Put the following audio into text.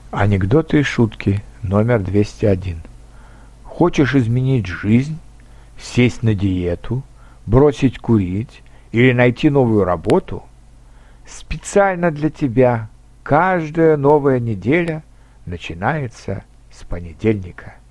Анекдоты и шутки номер 201. Хочешь изменить жизнь, сесть на диету, бросить курить или найти новую работу? Специально для тебя каждая новая неделя начинается с понедельника.